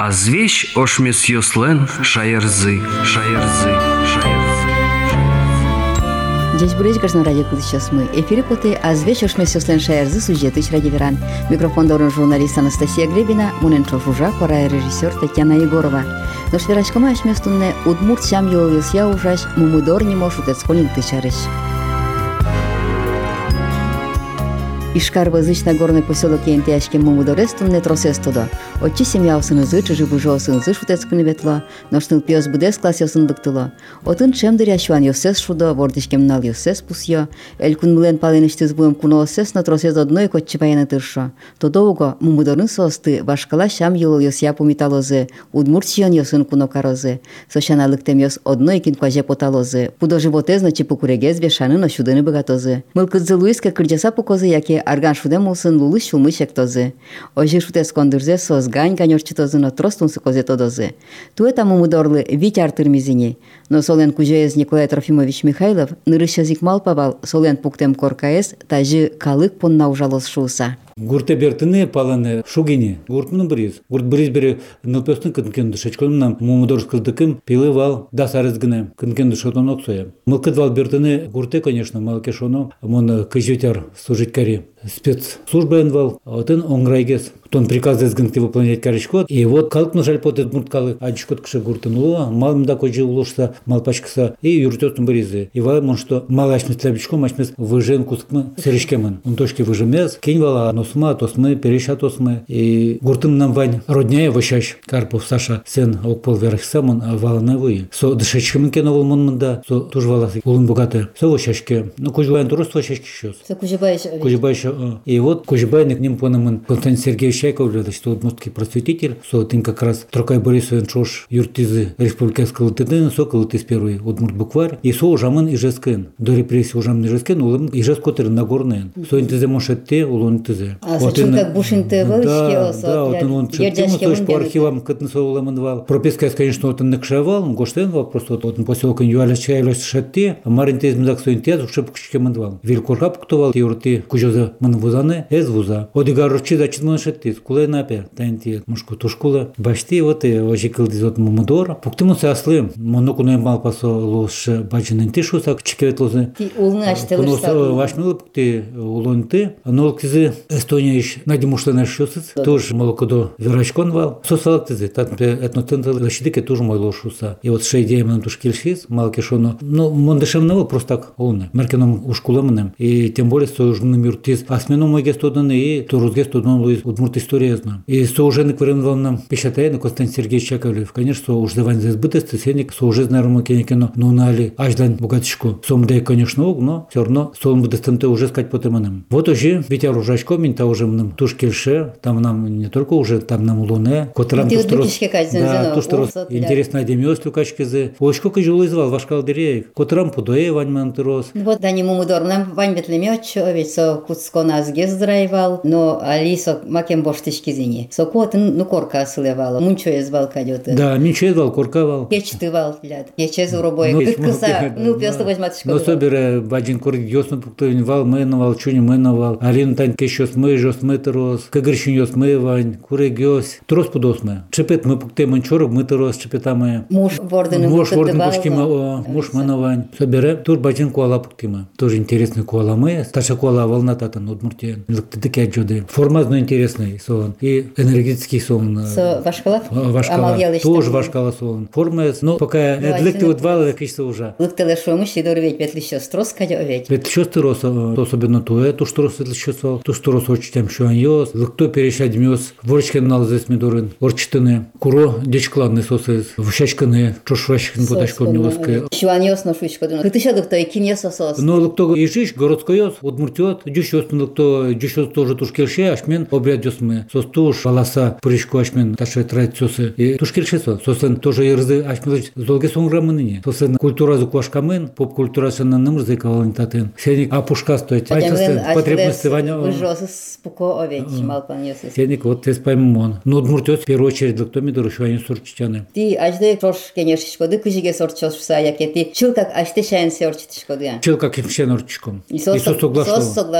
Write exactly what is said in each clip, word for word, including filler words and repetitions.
А звещ ошмес йослен шаярзы, шаярзы, шаярзы. Здесь будет каждый радио сейчас мы. Эфире поты, а звещ ошмес йослен шаярзы сюжеты радиоверан. Микрофон дорон журналист Анастасия Глебина, муненчо жужа, пора режиссер Татьяна Егорова. Но шверачкама ошместунне удмурт сям йоловес я ужаш, мумудор не может отсконить тычарыш. Ишкар-Вазыч Нагорный поселок Ентяшки Мумудорестунне тросестодо. Отчи семья осынызы, чужи бужо осынызы шутецкуны ветло, ношныл пьёс будес класс осындыктыло. Отын чемдыр яшуан йосес шудо, вордышкем нал йосес пусьё. Элькун мылен паленыштыз буем куно осес, но тросез одной котчи паяны тыршо. Тодового мумудорын состы, башкала шам йылыл йосья пумиталозы, удмуртчион йосын куно карозы. Сошаналыктем йос одной кин кваже поталозы. Пудо животе значи покурегез бешаны, но шудыны богатозы. Мылкыдзы луиска кырджаса покозы, яке арган шудем улсын лулы шулмы шектозы. Ожи шутес кондырзе соз гань ганёрчитозы, но тростунсы козе тодозы. Туэта мумудорлы витяр тырмизини. Но солен кужеез Николай Трофимович Михайлов нырышазик малпавал солен пуктем коркаес тажи калык понна ужалос шууса. Гурте бертыны паланы шугини. Гуртмын бриз. Гурт бриз бери нылпёстын кынкен дышачколымнам мумудорскылдыкым пилы вал дасарызгыны кынкен дышотон оксоя. Мылкыд вал бертыны гурте, конечно, малкешоно, мон кыжветяр служиткари. Спецслужба вал, а вот он онграйгес. Тон приказ дезгынты выполнять карышкот. И вот калк нажаль потет мурткалы адишкот кыша гуртынуло, малым да кожи улушса, мал пачкса и юртёстын бризы. И вал мон что мал ашмес лябичком, ашмес выжен кускмы серешкемын. Он точки выжемез, кинь вала носма, тосмы, переша тосмы. И гуртым нам вань родняя ващащ. Карпов Саша сен окпол верхсамон, а вала навы. Со дышачкемын кеновал монмында, со тоже валасы улын богаты. Со ващащке. Ну кужбайн турос ващащки щас. Со кужбайш. Кужбайш. И вот кужбайник ним понамын Константин Сергеевич Чайков, что удмуртский просветитель, со тем как раз Трокай Борисович Чош юртизы республиканского тыдын, со калытыз первый удмурт букварь, и со ужамын ижескын. До репрессии ужамын ижескын, улым ижес котыр нагорнын. Со интизе мошетте, улон интизе. А сочун как бушинты вылышки осо. Да, вот он чертим, то по архивам кытны со уламын вал. Прописка, конечно, вот он накшавал, он гоштен вал, просто вот он поселок юаляш чайляш шатте, а маринтез мдак со интез, уж шепкшке мандвал. Вилкорхап ктовал, юрти кужоза мын вузаны, эз вуза. Одигарочи зачит мын шатте. Кулай напер, тайнти мушку тушкула. Башти вот и ожикал дизот мумудор. Пуктимусы аслы. Монокуной мал пасо лош баджинын тишуса чекевет лозы. Ти улны аштылышса. Кунос вашмылы пукти улонты. Нол кизы Эстония иш надимушлы шусыз. Тоже молокодо верачкон вал. Сосалак тизы. Татмпе этноцентр лащидыке тоже мой лошуса. И вот шейдеем нам тушкильшиз. Малкешоно. Ну, мондышем навал просто так улны. Меркеном ушкуламыным. И тем более союзным юртиз. Асменом мой гестоданы и турузгестоданы луиз удмурт история знаю. И со уже накварен нам печатает Константин Сергеевич Чаковлев. Конечно, со уже давань за избытость, сенник, со уже знаром кенекено, но нали аждан богатышку. Сомдай, конечно, но все равно со он будет там уже сказать по теманам. Вот уже Витя Ружачко, минта уже нам тушкельше, там нам не только уже, там нам луне, которым то что да, то что интересно демиос лукачкизы. Очко кожу извал ваш калдерей, которым подое вань мантырос. Вот да не мумудор нам вань бетлемёчо, ведь со куцко нас гездрайвал, но алисо макем боштышки зини. Со котын ну корка сылевала, мунчо езвал кадёты. Да, мунчо езвал, корка вал. Кечтывал, блядь. Ечез уробой, кыткыса, ну пёсто возьматышко. Но собере баджин корк ёсно пуктовин вал, мэновал, чуни мэновал. Алин тань кещос мы, жос мытырос, кагыршин ёс мы вань, курек ёс. Трос пудос мы. Чепет мы пукте манчорок мытырос, чепета мы. Муж вордыны муж вордын пушкима, о, муж мэновань. Собере, тур баджин куала пуктима. Тоже интересный куала мы. Старша куала волна татан, удмуртия. Лыктыдыки аджоды. Форма зно интересный, сон. И энергетический сон. Со вашкала? Вашкала. Тоже вашкала сон. Форма, но пока эдлыкты вот валы, кичто уже. Лыктылы шомыш, и дорветь ветлища строс, кадё оветь. Ветлища строс, особенно туэ, ту штрос ветлища сол, ту штрос очтем шуан ёс, лыкто перешать мёс, ворчкен нал здесь медорын, ворчтыны, куро дечкладный сосыз, вущачканы, чошвачкин потачком нёская. Шуан ёс на шучку, ну ты что лыкто и кин ёс сос. Но лыкто ижиш, городской ёс, удмуртёт, дюш ёс лыкто, дюш ёс тоже тушкельше, ашмен обряд ёс мы, сос туш, баласа, пуричку ашмен, таше традициосы, и тушкельше сос, сосен тоже ерзы, ашмен золге сонграмыныне, сосен культура зуквашкамен, поп-культура сенна нымрзы кавалентатен, сеник апушка стоит, потребности ваня. Выжёсы спуко оветь, малпан ёсыс. Сеник вот тез поймон. Но удмуртёт в первую очередь лыкто мидору шванин сурчитяны. Ти ажды трош кенешишкоды, кыжиге сорчошса, яке ти чылкак ашты шайын сорчитишкоды. Чылкак имшен орчиком. И сос соглашло. Сос соглашло. Да,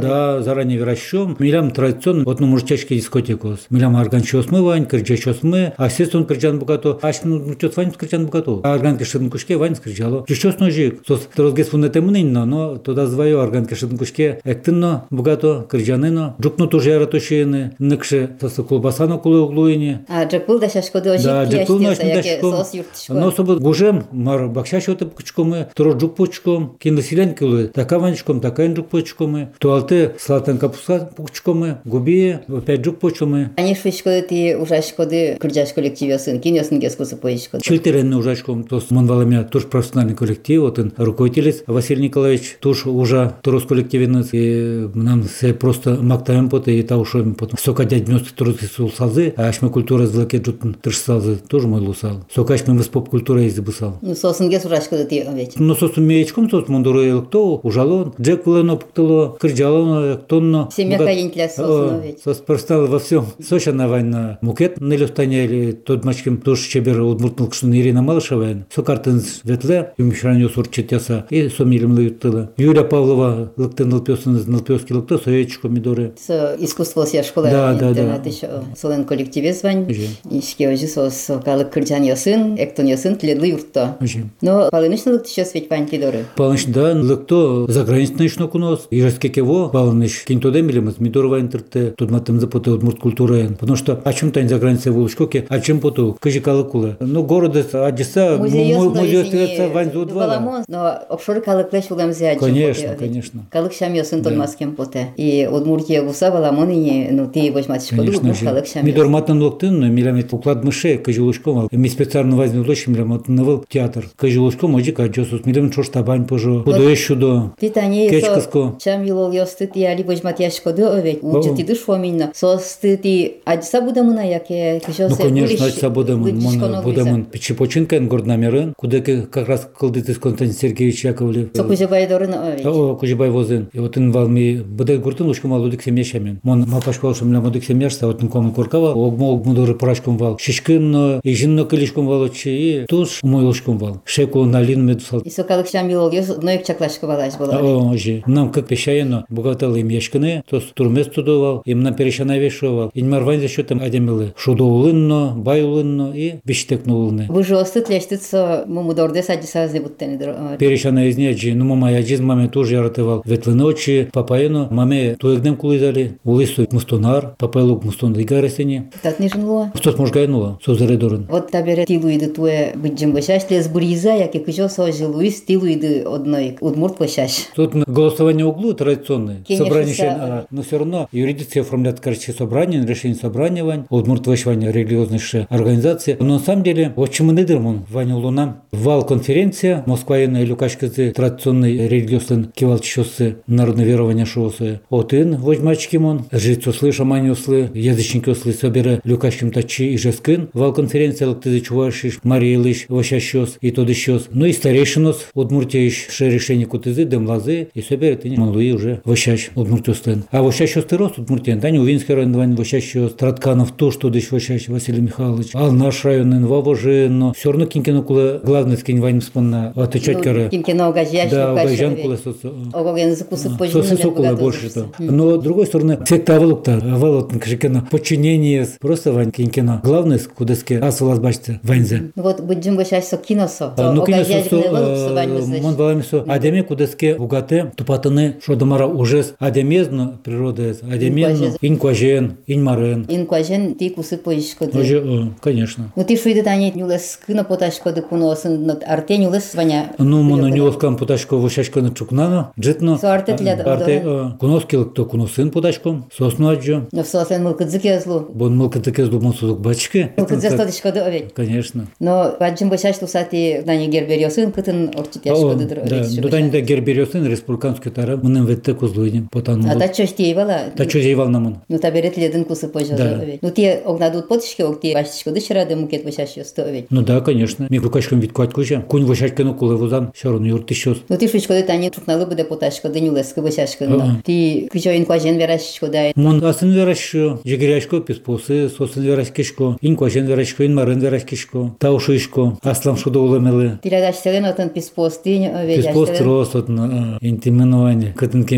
Да, заранее выращем. Милям традиционно, вот ну мужчачки дискотекос. Милям арганчос мы вань, кырчачос мы, а сестон кырчан богато. Аш ну мужчос вань кырчан богато. А арганки шеднкушке вань скричало. Чущос ножик. Сос трозгес фунетемнинно, но туда зваю арганки шеднкушке. Эктинно богато кырчанино. Джукну тоже яратошиены. Некше сос колбасано кулы углуине. А джекул да шашкоды ожик. Да, джекул наш дашком. Но особо гужем мар бакшашоты пучкомы, тро джук почком, киндасилен кулы. Така ванчком, така инджук почкомы. Туалты слатан капуска почкомы, губи опять джук почкомы. Они швичкоды ти ужашкоды кырджаш коллективёсын, кинёсын гескусы поишкоды. Чильтеренный ужашком, то с Монваламя тоже профессиональный коллектив, вот он руководитель Василий Николаевич, тоже уже турос коллективный, и нам все просто мактаем поты, и того, что потом сока дядь вместе турос сулсазы, а аш мы культура с лаке джутн тыршсазы, тоже мой лусал. Сока аш мы с поп культурой избусал. Ну сосын гес ужашкоды ти овечь. Ну сосун меечком, сос мундуры элктоу, ужалон, джек лено пуктало, кырджалоно, тонно. Семья каин для сосын овечь. Сос простал во всем. Соша на война мукет на лёстане или тот мачкем тоже чебер удмуртнул, что Ирина Малышева, сокартын ветле, юмишраню сурчетяса и сомилем лаютыла. Юлия Павлова лыктын лпёсын лпёски лыкто, соечко мидоры. Со искусство ся школа. Да, да, да. Солен коллективе звань. Ишке ожи сос калык кырджан ясын, эктон ясын тледлы юртто. Но палынышны лыкты шос ведь вань тледоры. Палыныш да, лыкто заграничный шно кунос. Ижеске кево, палыныш кинтоде милимыз, мидорова интерте, тут матым запоты удмурт культуры. Потому что о чем-то за границей волочкоке, о чем поту, кажи калыкулы. Ну города Одесса, музей остается вань за два. Но офшор калык леш уламзе. Конечно, конечно. Калык шам ясын тон маскем поте. И удмуртия гуса баламони, ну ты возьмать школу, калык шам. Мидор матан локтын, милямет уклад мыше, кажи лошком. Ми специально возьмем лоч, милямет навел театр. Кажи лошком, оджи каджосус, милям чош табань пожо. Подуешь сюда. Ты тани со шам юлол ястыт и али возьмать яшкоды овет. Учти душ фоминно. Состыт и Одесса будемуна, яке кишосе. Ну конечно, Одесса будемун, будемун. Печепочинка, город намерен, куда как раз колдит Константин Сергеевич Яковлев. Со Кузебай дорын овет. О, Кузебай возен. И вот он валми, bude gurtun лучком вал удик семьяшамен. Мон мапашкал шум ля мудик семьяшта, вот он кому коркава, огмо огмо доры прашком вал. Шишкин, и жинно килишком вал очи, и туш мой лучком вал. Шеку налин медусал. И сокалык шамилол, ноек чаклашка валаш была. О, жи. Нам как пешаено, богатал им яшкины, то турмес тудовал, им нам перешана вешивал. И марвань за счетом адемилы. Шудоулынно, байлынно и биштекнулны. Вы же остытлештыца мумудорде садисазы буттени дро. Перешана из неджи, ну мама яджиз маме тоже яратывал. Ветлы ночи, папаено, маме туегдем кулидали, улису мустонар, папайлук мустон дигаресени. Так не жнуло. Что сможгайнуло, созаредорен. Вот табере тилуиды туе быджим башаш, лес буриза, яки кыжо сожи луис тилуиды одной удмурт башаш. Тут голосование углу традиционное. Собрание, но все равно юридически оформляют, короче, собрание, решение собрания вань, удмурт вышвание религиозной организации. Но на самом деле, очень мы недермон, Ваня Луна, вал конференция, Москва и Люкашкасы, традиционный религиозный кивалчосы, народное верование шосы. Один возьмачки мон, жицослы, шаманьослы, язычники ослы, собере Люкашким тачи и жескин, вал конференция, лактызы чувашиш, Мариелыш, ващащос и тодыщос. Ну и старейшинос, удмуртеиш, ше решение кутызы, демлазы, и собере ты не манлуи уже ващащ, удмуртёслын. А ващащос ты рост удмуртен, да не увинский район, вань ващащос, Тратканов, то, что дыш ващащ, Василий Михайлович, ал наш район, вавожено, все равно кинкино кулы, главный скинь вань вспомна, отвечать кары. Кинкино угожьяш, да, угожьян кулы, огоген закусы позже. Сосокула больше то. Но с другой стороны, секта авалукта, авалут кшикино, подчинение, просто вань кинкино. Главное, куда ски, асвалас бачте, ваньзе. Вот будем ващащ со киносо. Ну киносо, мон баламисо, адеме куда ски угате, тупатаны, что домара ужес, адемезно природа, адемезно, инкважен, инмарен. Инкважен, ты кусы поишкоды. Уже, конечно. Ну ты шуиды тани нюлес кына поташкоды куносын, арте нюлес ваня. Ну моно нюлес кам поташко ващашко на чукнано, джитно. Со арте тля арте куноски кто куносын поташком, сосну аджо. Но сослен мылкыдзыке злу. Бон мылкыдзыке злу монсузук бачки. Мылкыдзастодышкоды овет. Конечно. Но баджим башаш тусати дани герберёсын кытын орчитяшкоды дро. Да, дудани да герберёсын республиканский тара мынын ветте кузлуйнем потан. А та чөштей бала. Та чөштей бал намын. Ну таберет ледын кусы позже овет. Ну те огнадут потышке огти башчкоды шырады мукет башаш ёсты овет. Ну да, конечно. Ми рукашком вид квать куча. Кунь вashashкену кулы вузан, шарон юрты щос. Ну ти шучкоды тани чукналы буде поташкоды нюлески башашкоды. Ти кычо инкважен верашкоды. Мон асын верашко, жегеряшко писпосы, сосын верашкишко, инкважен верашко, инмарен верашкишко, таушишко, аслам шудо улемелы. Ти радаш селен отын писпосты овет. Писпост рос отын интименование, кытын кеми куяш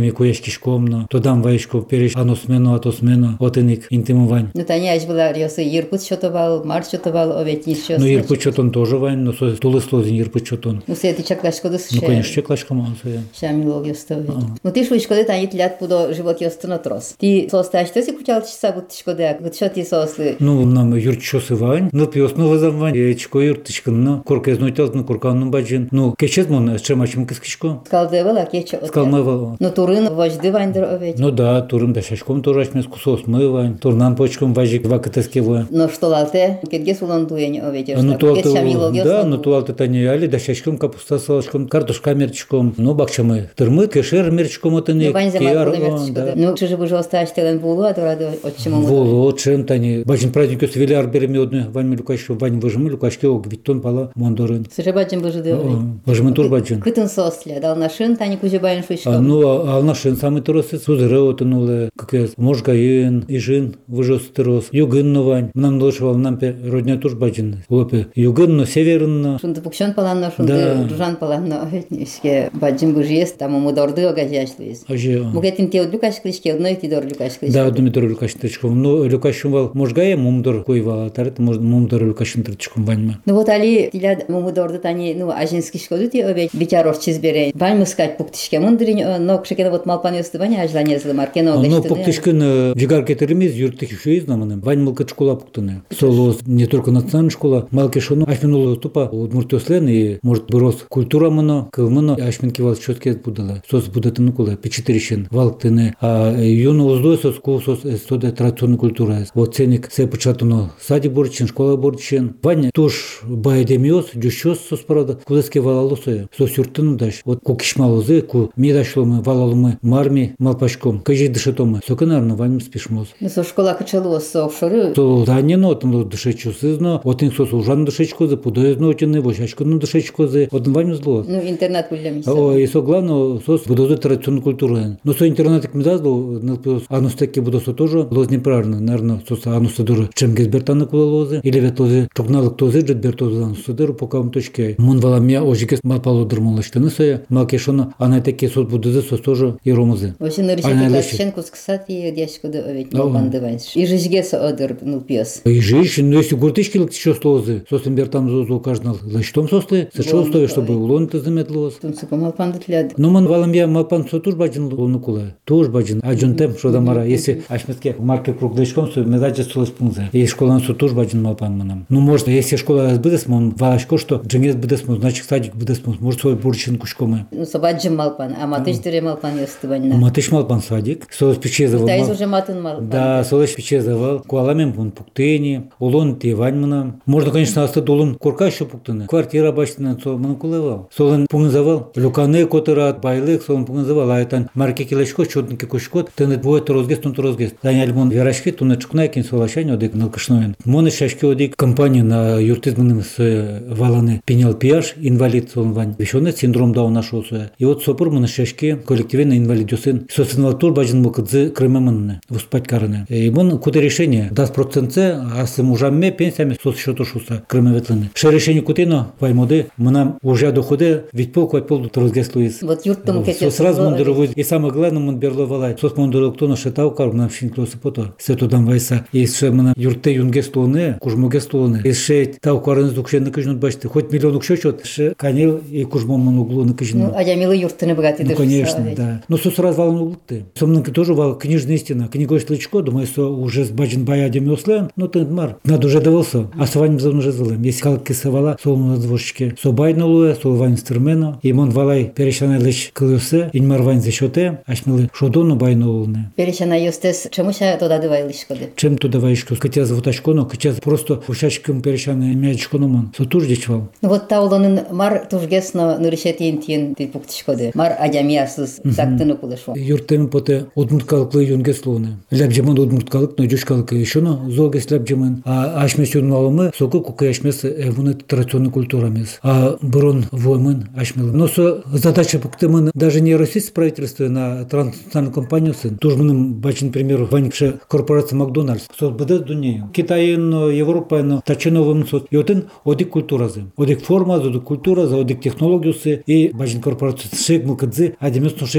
кишкомно, тодан вайшко переш аносмено, атосмено, отеник интимовань. Ну, та не аж была рёсы Иркут что-то бал, Марс что-то бал, овет еще. Ну, Иркут что-то тоже вань, но со тулыслозин Иркут что-то. Ну, все эти чаклашко дос. Ну, конечно, чаклашка мансуя. Шамилов ёстовет. Ну, ты шло школе тани тлят пудо живот ёстно трос. Ты состаш, ты си кучал часа будто шкоде, вот что ты сосли. Ну, нам юрчосы вань, ну, пьёс ну вазамвань, ячко юртышкан, ну, корка изнутел, ну, корканну баджин. Ну, кечет мон, чемачим кискишко. Скалде была, кечо. Скалмывал. Ну, турын вожды вань др овет. Ну, да, турын да шашком тоже ашмес кусос мывань, турнан почком важик вакытескево. Ну, что лалте, кетге сулон дуень овет. Ну, то да, ну, то алты тани али, да шашком капуста салашком, картошка мерчком, ну, бакчамы, тырмы, кешер мерчком отыны. Ну, вань замал мерчком. Ну, чужи бы жёста аштелен булу, а дурады отчему мы. Булу, чем тани. Бачин праздник ёс веляр беремёдны, вань ми лукашко, вань выжимы, лукашке ог виттон пала мондорын. Сыжы бачин быжыды овет. Выжимы тур бачин. Кытын сосля, дал нашин, тани кузе байн шуйшком. Ну, ал нашин самый торосы, сузыры отынулы, как я, можгаин, ижин, выжос тырос, югын вань. Нам долшевал нампе родня тур бачин. Лопе, югын, но северын. Шунды пукшон паланно, шунды жужан паланно овет. Ишке бачин быжы есть, там ему дорды огажашлыйыз. Мугетин те от люкашклишке, одной ти дор люкашклишке. Да, одной дор люкашклишком. Ну, люкашком вал можгая, мумдор койва, тарет мумдор люкашин тричком ваньма. Ну вот али тиля мумдорды тани, ну ажинский шкоду ти обе бичаров чизберей. Ваньма скать пуктишке мундрин, но кшекена вот малпан ёсты ваня ажлане злы маркено огашты. Ну, пуктишкен жигар кетеремез, юртых еще изнаманым. Вань малка школа пуктыны. Соло не только национальная школа, малки шону ашминула тупа, вот муртёслен и может бырос культура мыно, кылмыно, ашминки вал чётке будала. Сос будатыны кула, печетерищен, валктыны, а юну уздой сос кул сос эстоде традиционная культура. Вот ценник се початуно сади борчин, школа борчин. Вань туш байдемиос, дюшос сос парада, кудеске валалосоя, сос юртыны даш. Вот кукишмалозы, ку медашломы, валалымы, марми, малпашком, кажи дышетомы. Соканарно вань спишмоз. Ну со школа качалу со офшоры. То данено там дышечу сызно, вот ин сос ужан дышечкозы, пудоезно отины, вошачкону дышечкозы, вот вань зло. Ну интернет кулямиса. О, и со главное сос будозы традиционной культуры. Но со интернетик ми дазло, нелпиос анустеки будосо тоже лоз неправильно, наверное, сос анустадуры чем гезбертаны кула лозы, или вет лозы чокналык тозы джет бертозы анустадуры по кам точке. Мун вала мя ожикес малпало дырмалаштыны соя, малкешоно анайтеки сос будозы сос тоже и ромозы. Вообще на решение классчен кусксати дяшкоды овет не бандывайс. И жижгес одыр нулпиос. И жиж, ну если гуртышки лактичо слозы, сос имбертам зозу каждый лачтом сослы, сочо стоит, чтобы улон ты заметлоз. Тунсука малпан дытляд. Ну ман вала мя малпан со туж баджин лону кула, туж баджин, а джунтем что дамара, если ашметке марки круглячком, то медаджи солос пунзе. И школа со туж баджин малпан манам. Ну может, если школа разбудес, мон валашко что джингес будес, значит садик будес, может свой бурчин кушкомы. Ну собаджин малпан, а матыш дыре малпан ёстыванна. Матыш малпан садик, солос печезавал. Да, уже матын малпан. Да, солос печезавал. Куаламен пун пуктени, улон тевань манам. Можно, конечно, остать улон корка еще пуктаны. Квартира баштина, со ман кулевал. Солон пунзавал. Люканы котырат, байлык, солон пунзавал. А это марки килачко, чётники кушкот. Ты не двое то розгест, он то розгест. Заняли мон верашки, ту не чукна, кин солошань, одик налкашноен. Моны шашки одик компания на юртизманым с валаны пенял пиаш, инвалид солон вань. Вещёный синдром Дауна шосуя. И вот сопор моны шашки коллективный инвалидёсын. Социнвал тур баджин мукадзы крымаманны. Воспать караны. И мон куты решение. Даст процентце, а с мужами пенсиями соц счету шуса крымаветланы. Ше решение кутино, ваймоды, мы уже доходы, ведь пол квать пол розгест луис. Вот юртом кете. Сразу мон дорогой. И самое главное, мон берло валай. Соц мон дорог кто нашетал кар, нам шинклосы пото. Сето дам вайса. И ше мона юрте юнгест луны, кужмогест луны. И ше тау каран здукше на каждый бачты. Хоть миллион укшечет, ше канил и кужмом мон углу на каждый. Ну, а я милый юрты богатый. Ну, конечно, да. Но соц раз вал углы. Сомнанки тоже вал книжная истина. Книгой шлычко, думаю, что уже с баджин баядем ослен, ну ты мар. Надо уже довелся. А с вами зон уже злым. Если калки савала, солому на двошечке. Со байнулуе, со вань стермена. И мон валай перещанай лишь клюсе. И мар вань зашоте, аж мили шодону байнулуне. Перещанай юстес, чему ся туда давай лишь коды? Чем туда вайшку? Катя завутачкону, катя просто ушачком перещанай мячкону мон. Со туж дичвал. Ну вот таулонын мар тужгесно нырышет интин ты пуктишкоды. Мар адямиасыз сактыны кулышу. Юртем поте одмурткалыклы юнгеслуне. Лябжемон одмурткалык, но дюшкалык еще но золгес лябжемон. А ашмес юнмалымы, соку кука ашмес вуны традиционной культурамес. А брон воймын ашмел. Но со задача пуктемын даже не российское правительство на транснациональную компанию сын. Тужманым бачин пример ванькше корпорация Макдональдс. Сот бдес дунею. Китайын, Европайын, тачиновым сот. И отын одик культуразы. Одик форма, одик культура, одик технологиусы и бачин корпорация шейк мылкадзы, адемес но шейкарны.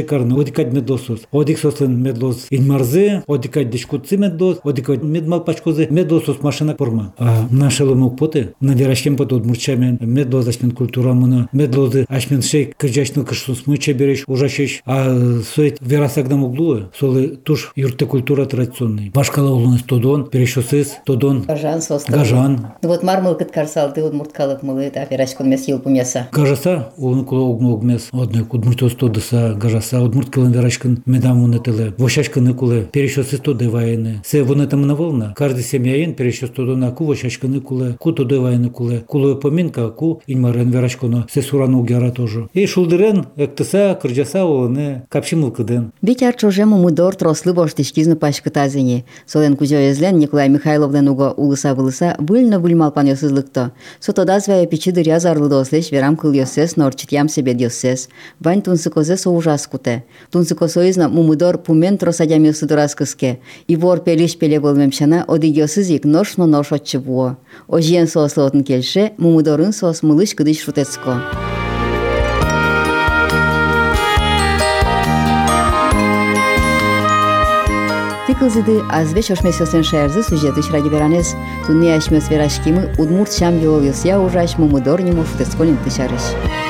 одикать медлосус. Одик сослен медлос инмарзе, одикать дешкутцы медлос, одикать медмал пачкозе, медлосус машина форма. А наша ломок поте, на верашкем потом мурчамен, медлос ашмен культура муна, медлозы ашмен шей кырджачный кыштун смыча береш, ужашеш, а соет верасагдам углу, солы туш юрте культура традиционный. Башкала улунес тодон, перешосыз, тодон. Гажан состав. Гажан. Вот мармыл кыткарсал, ты удмурткалык мылы, та верашкон мес ел пумеса. Гажаса, улун кула огмог мес, одной удмуртос тодыса, гажаса, удмурткалын верашкан медам унетеле, вошашканы куле, перешосыз тоды вайны. Се вонетам наволна, каждый семьяин перешос тодона ку вошашканы куле, ку тоды вайны куле, кулы поминка, ку инмарен верашконо, се сурану гяра тоже. И шулдырен, эктеса, кырджаса улыны, капшимыл кыден. Битяр чожему мудор трослы боштишкизны пашкытазыни. Солен кузёезлен Николай Михайловден уго улыса-вылыса выльно выльмалпан ёсызлыкто. Сотода звая пичидыр язарлы дослеш верам кыл ёсес, норчит ям себе ёсес. Вань тунсыкозе со ужас куте. Тунсыкосоизна мумудор пумен тросадям ёсыдырас кыске. И вор пелиш пеле болмемшана оди ёсызик ношно нош отчывуо. Ожиен сослы отын келше, мумудорын сос мылыш кыдыш шутецко. Тыкылзыды азвеч ошмесёсен шаярзы сюжетыш ради веранес. Тунни ашмёс верашкимы удмурт шам ёлыс я ужаш мумудор нему шутецколин тышарыш.